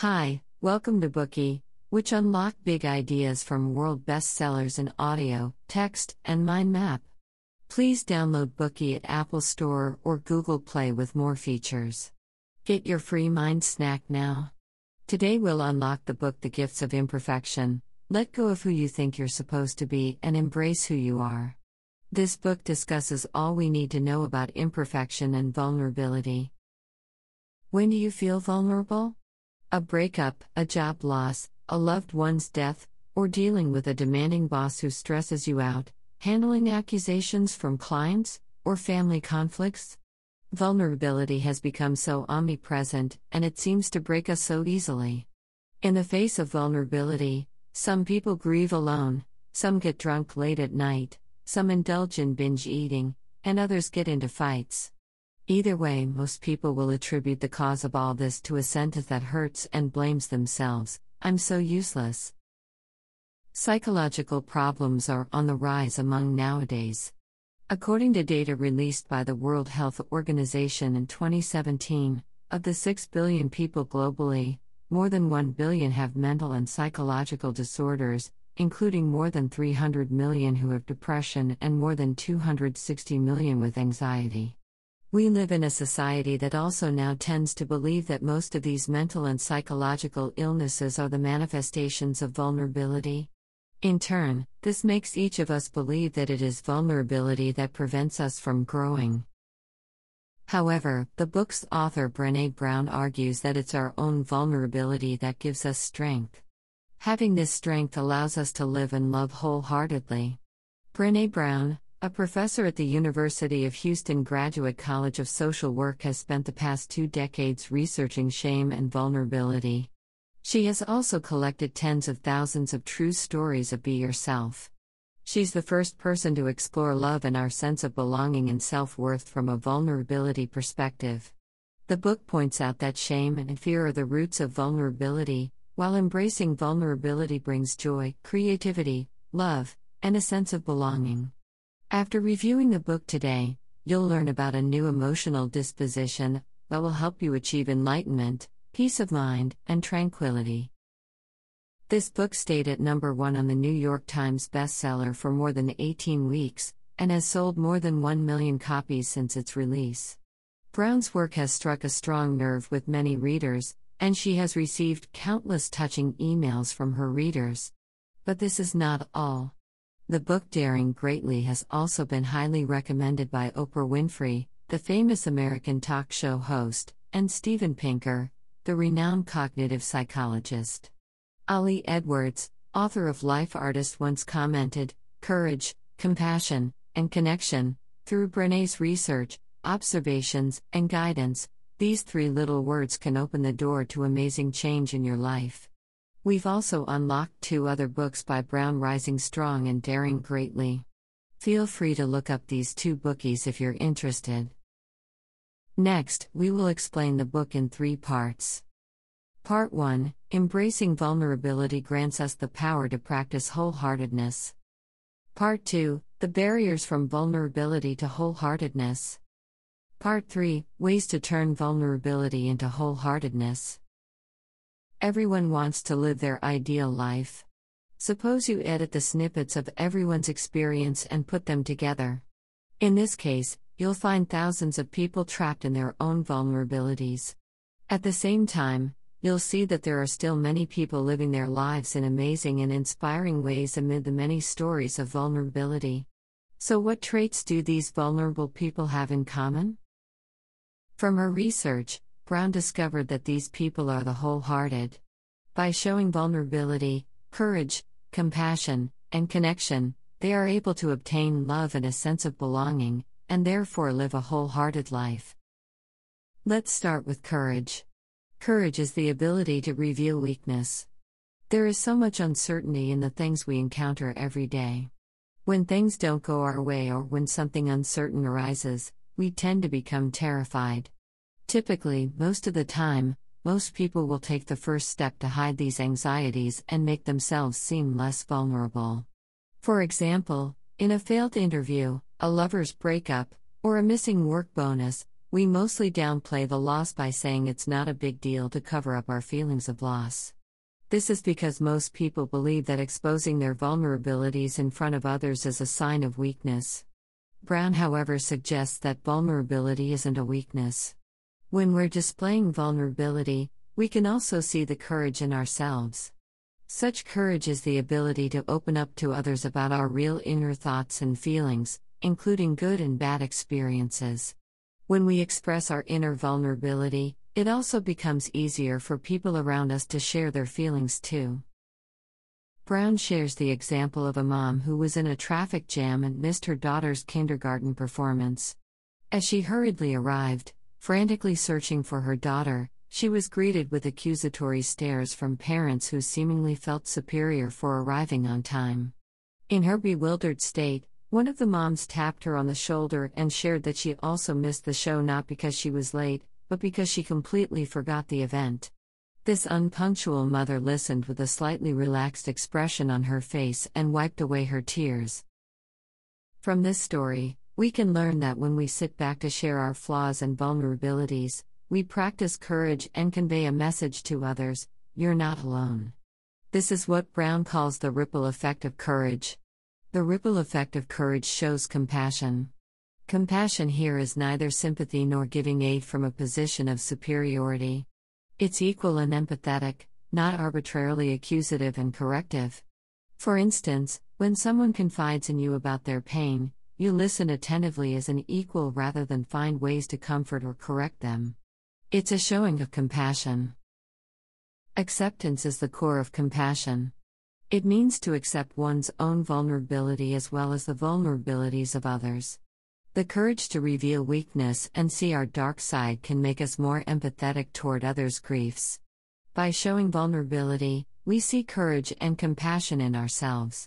Hi, welcome to Bookey, which unlock big ideas from world bestsellers in audio, text, and mind map. Please download Bookey at Apple Store or Google Play with more features. Get your free mind snack now. Today we'll unlock the book The Gifts of Imperfection. Let go of who you think you're supposed to be and embrace who you are. This book discusses all we need to know about imperfection and vulnerability. When do you feel vulnerable? A breakup, a job loss, a loved one's death, or dealing with a demanding boss who stresses you out, handling accusations from clients, or family conflicts? Vulnerability has become so omnipresent, and it seems to break us so easily. In the face of vulnerability, some people grieve alone, some get drunk late at night, some indulge in binge eating, and others get into fights. Either way, most people will attribute the cause of all this to a sentence that hurts and blames themselves: I'm so useless. Psychological problems are on the rise among nowadays. According to data released by the World Health Organization in 2017, of the 6 billion people globally, more than 1 billion have mental and psychological disorders, including more than 300 million who have depression and more than 260 million with anxiety. We live in a society that also now tends to believe that most of these mental and psychological illnesses are the manifestations of vulnerability. In turn, this makes each of us believe that it is vulnerability that prevents us from growing. However, the book's author Brené Brown argues that it's our own vulnerability that gives us strength. Having this strength allows us to live and love wholeheartedly. Brené Brown, a professor at the University of Houston Graduate College of Social Work, has spent the past 2 decades researching shame and vulnerability. She has also collected tens of thousands of true stories of Be Yourself. She's the first person to explore love and our sense of belonging and self-worth from a vulnerability perspective. The book points out that shame and fear are the roots of vulnerability, while embracing vulnerability brings joy, creativity, love, and a sense of belonging. After reviewing the book today, you'll learn about a new emotional disposition that will help you achieve enlightenment, peace of mind, and tranquility. This book stayed at number 1 on the New York Times bestseller for more than 18 weeks, and has sold more than 1 million copies since its release. Brown's work has struck a strong nerve with many readers, and she has received countless touching emails from her readers. But this is not all. The book Daring Greatly has also been highly recommended by Oprah Winfrey, the famous American talk show host, and Steven Pinker, the renowned cognitive psychologist. Ali Edwards, author of Life Artist, once commented, "Courage, compassion, and connection. Through Brené's research, observations, and guidance, these 3 little words can open the door to amazing change in your life." We've also unlocked 2 other books by Brown: Rising Strong and Daring Greatly. Feel free to look up these 2 bookies if you're interested. Next, we will explain the book in 3 parts. Part 1: Embracing vulnerability grants us the power to practice wholeheartedness. Part 2: The barriers from vulnerability to wholeheartedness. Part 3: Ways to turn vulnerability into wholeheartedness. Everyone wants to live their ideal life. Suppose you edit the snippets of everyone's experience and put them together. In this case, you'll find thousands of people trapped in their own vulnerabilities. At the same time, you'll see that there are still many people living their lives in amazing and inspiring ways amid the many stories of vulnerability. So what traits do these vulnerable people have in common? From her research, Brown discovered that these people are the wholehearted. By showing vulnerability, courage, compassion, and connection, they are able to obtain love and a sense of belonging, and therefore live a wholehearted life. Let's start with courage. Courage is the ability to reveal weakness. There is so much uncertainty in the things we encounter every day. When things don't go our way or when something uncertain arises, we tend to become terrified. Typically, most of the time, most people will take the first step to hide these anxieties and make themselves seem less vulnerable. For example, in a failed interview, a lover's breakup, or a missing work bonus, We mostly downplay the loss by saying it's not a big deal to cover up our feelings of loss. This is because most people believe that exposing their vulnerabilities in front of others is a sign of weakness. Brown, however, suggests that vulnerability isn't a weakness. When we're displaying vulnerability, we can also see the courage in ourselves. Such courage is the ability to open up to others about our real inner thoughts and feelings, including good and bad experiences. When we express our inner vulnerability, it also becomes easier for people around us to share their feelings too. Brown shares the example of a mom who was in a traffic jam and missed her daughter's kindergarten performance. As she hurriedly arrived, frantically searching for her daughter, she was greeted with accusatory stares from parents who seemingly felt superior for arriving on time. In her bewildered state, one of the moms tapped her on the shoulder and shared that she also missed the show not because she was late, but because she completely forgot the event. This unpunctual mother listened with a slightly relaxed expression on her face and wiped away her tears. From this story, we can learn that when we sit back to share our flaws and vulnerabilities, we practice courage and convey a message to others: you're not alone. This is what Brown calls the ripple effect of courage. The ripple effect of courage shows compassion. Compassion here is neither sympathy nor giving aid from a position of superiority. It's equal and empathetic, not arbitrarily accusative and corrective. For instance, when someone confides in you about their pain, you listen attentively as an equal rather than find ways to comfort or correct them. It's a showing of compassion. Acceptance is the core of compassion. It means to accept one's own vulnerability as well as the vulnerabilities of others. The courage to reveal weakness and see our dark side can make us more empathetic toward others' griefs. By showing vulnerability, we see courage and compassion in ourselves.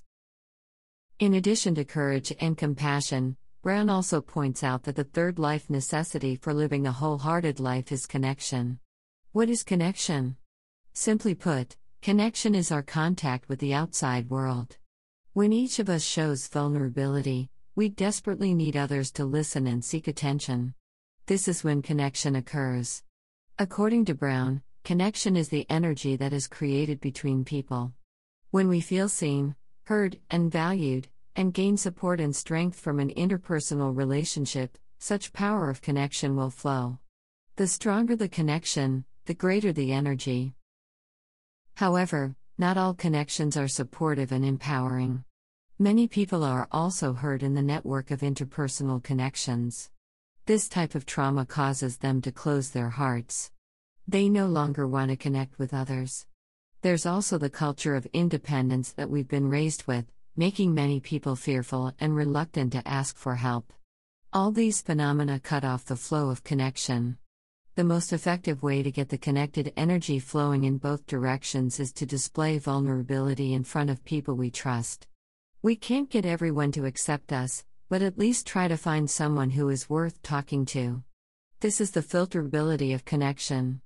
In addition to courage and compassion, Brown also points out that the third life necessity for living a wholehearted life is connection. What is connection? Simply put, connection is our contact with the outside world. When each of us shows vulnerability, we desperately need others to listen and seek attention. This is when connection occurs. According to Brown, connection is the energy that is created between people. When we feel seen, heard, and valued, and gain support and strength from an interpersonal relationship, such power of connection will flow. The stronger the connection, the greater the energy. However, not all connections are supportive and empowering. Many people are also hurt in the network of interpersonal connections. This type of trauma causes them to close their hearts. They no longer want to connect with others. There's also the culture of independence that we've been raised with, making many people fearful and reluctant to ask for help. All these phenomena cut off the flow of connection. The most effective way to get the connected energy flowing in both directions is to display vulnerability in front of people we trust. We can't get everyone to accept us, but at least try to find someone who is worth talking to. This is the filterability of connection.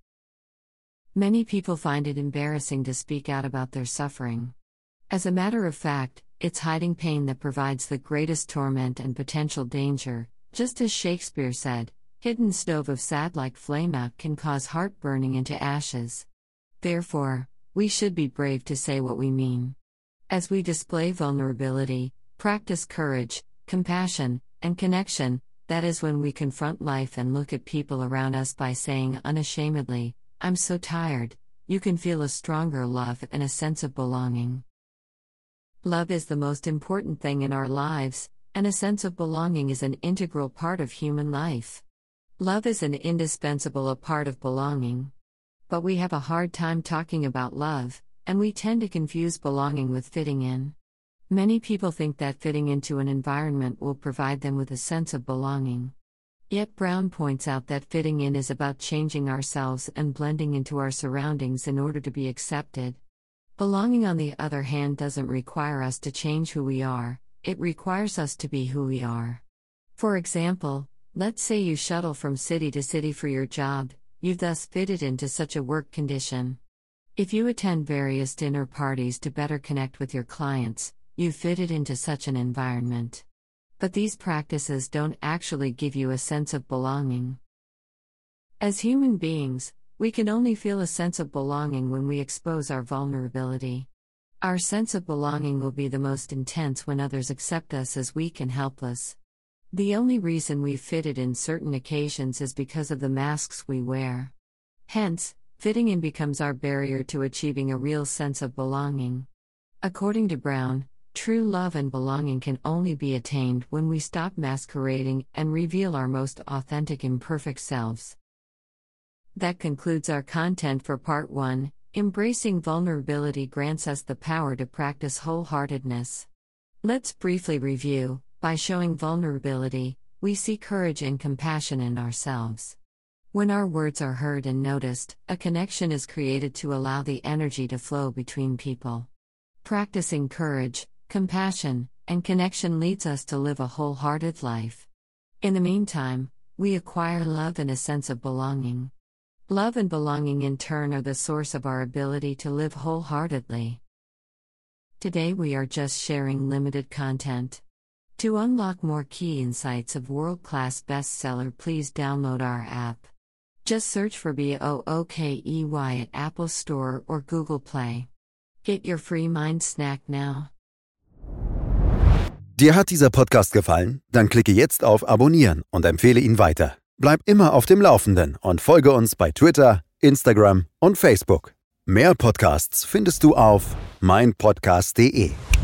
Many people find it embarrassing to speak out about their suffering. As a matter of fact, it's hiding pain that provides the greatest torment and potential danger. Just as Shakespeare said, "Hidden stove of sad like flame out can cause heart burning into ashes." Therefore, we should be brave to say what we mean. As we display vulnerability, practice courage, compassion, and connection, that is when we confront life and look at people around us by saying unashamedly, "I'm so tired," you can feel a stronger love and a sense of belonging. Love is the most important thing in our lives, and a sense of belonging is an integral part of human life. Love is an indispensable part of belonging. But we have a hard time talking about love, and we tend to confuse belonging with fitting in. Many people think that fitting into an environment will provide them with a sense of belonging. Yet Brown points out that fitting in is about changing ourselves and blending into our surroundings in order to be accepted. Belonging, on the other hand, doesn't require us to change who we are, it requires us to be who we are. For example, let's say you shuttle from city to city for your job, you've thus fitted into such a work condition. If you attend various dinner parties to better connect with your clients, you've fitted into such an environment. But these practices don't actually give you a sense of belonging. As human beings, we can only feel a sense of belonging when we expose our vulnerability. Our sense of belonging will be the most intense when others accept us as weak and helpless. The only reason we fit it in certain occasions is because of the masks we wear. Hence, fitting in becomes our barrier to achieving a real sense of belonging. According to Brown, true love and belonging can only be attained when we stop masquerading and reveal our most authentic imperfect selves. That concludes our content for Part 1. Embracing vulnerability grants us the power to practice wholeheartedness. Let's briefly review. By showing vulnerability, we see courage and compassion in ourselves. When our words are heard and noticed, a connection is created to allow the energy to flow between people. Practicing courage, compassion, and connection leads us to live a wholehearted life. In the meantime, we acquire love and a sense of belonging. Love and belonging in turn are the source of our ability to live wholeheartedly. Today we are just sharing limited content. To unlock more key insights of world-class bestseller, please download our app. Just search for BOOKEY at Apple Store or Google Play. Get your free mind snack now. Dir hat dieser Podcast gefallen? Dann klicke jetzt auf Abonnieren und empfehle ihn weiter. Bleib immer auf dem Laufenden und folge uns bei Twitter, Instagram und Facebook. Mehr Podcasts findest du auf meinpodcast.de.